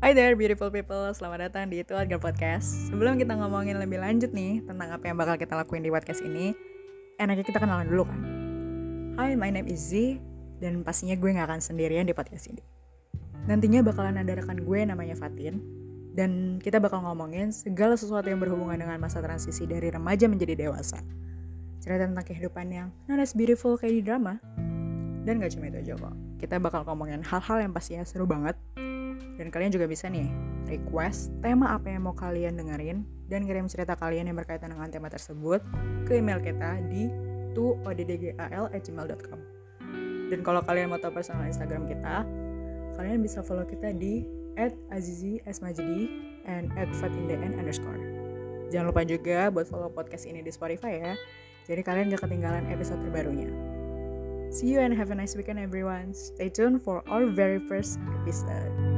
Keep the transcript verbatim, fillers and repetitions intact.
Hi there beautiful people, selamat datang di Itu Adgar Podcast. Sebelum kita ngomongin lebih lanjut nih tentang apa yang bakal kita lakuin di podcast ini, enaknya kita kenalan dulu kan. Hi, my name is Z, dan pastinya gue gak akan sendirian di podcast ini. Nantinya bakalan ada rekan gue namanya Fatin, dan kita bakal ngomongin segala sesuatu yang berhubungan dengan masa transisi dari remaja menjadi dewasa. Cerita tentang kehidupan yang not as beautiful kayak di drama. Dan gak cuma itu aja kok, kita bakal ngomongin hal-hal yang pastinya seru banget. Dan kalian juga bisa nih request tema apa yang mau kalian dengerin dan kirim cerita kalian yang berkaitan dengan tema tersebut ke email kita di tu oddgal at gmail dot com. Dan kalau kalian mau tahu personal Instagram kita, kalian bisa follow kita di at azizi s majdi and at fatindn underscore. Jangan lupa juga buat follow podcast ini di Spotify ya, jadi kalian gak ketinggalan episode terbarunya. See you and have a nice weekend everyone. Stay tuned for our very first episode.